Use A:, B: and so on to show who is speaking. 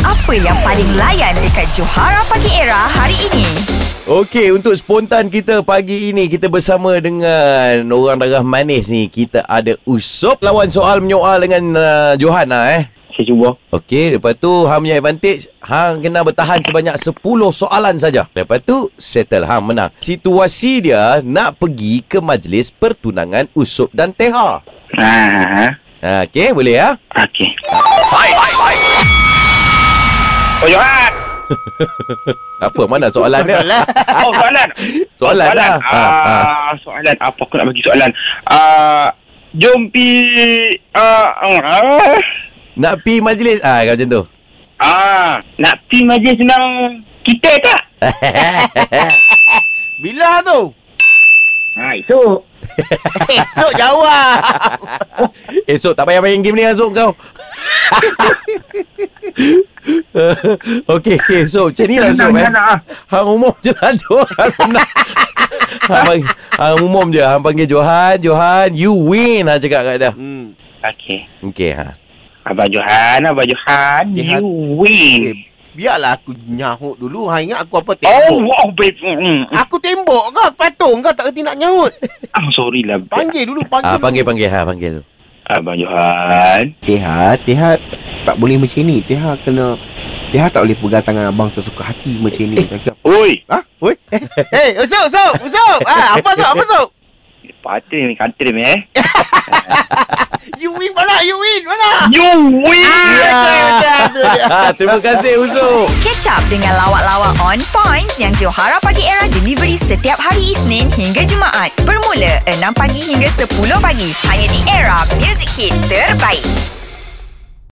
A: Apa yang paling layan dekat Johara Pagi Era hari ini?
B: Okey, untuk spontan kita pagi ini, kita bersama dengan orang darah manis ni. Kita ada Usop lawan soal menyoal dengan Johan lah.
C: Saya cuba.
B: Okey, lepas tu Hang punya advantage, Hang kena bertahan sebanyak 10 soalan saja. Lepas tu settle, Hang menang. Situasi dia nak pergi ke majlis pertunangan Usop dan Teha. Okey, boleh ya?
C: Okey. Oh, Johan.
B: Apa, mana soalan dia?
C: Oh, soalan.
B: Soalan lah.
C: Soalan. Apa aku nak bagi soalan? Jom pi...
B: Nak pi majlis? Kalau macam tu.
C: nak pi majlis senang kita tak?
D: Bila tu?
C: Esok.
D: Esok jawab.
B: Esok tak payah main game ni Azuk kau. Okey, so macam ni lah Azuk Hang umum je lah Johan menang. Hang umum je. Hang panggil Johan, you win. Hang cakap kat dia. Okey,
C: Abang Johan, you win.
D: Biarlah aku nyahut dulu. Hang ingat aku apa tembok?
C: Oh, wow, babe.
D: Aku tembok kau, patung kau tak kerti nak nyahut.
C: Sorry lah.
D: Panggil dulu,
B: panggil. Panggil dulu.
C: Abang Johan.
D: Teha tak boleh macam ni. Teha tak boleh pegang tangan abang sesuka hati macam ni.
C: Oi.
D: Oi. Usop. Apa Usop?
C: Patut ni country ni
D: You win mana?
C: You win.
B: Terima kasih Usop.
A: Catch up dengan lawak-lawak on points yang Johara Pagi Era delivery setiap hari Isnin hingga Jumaat. Bermula 6 pagi hingga 10 pagi. Hanya di Era Music Hit terbaik.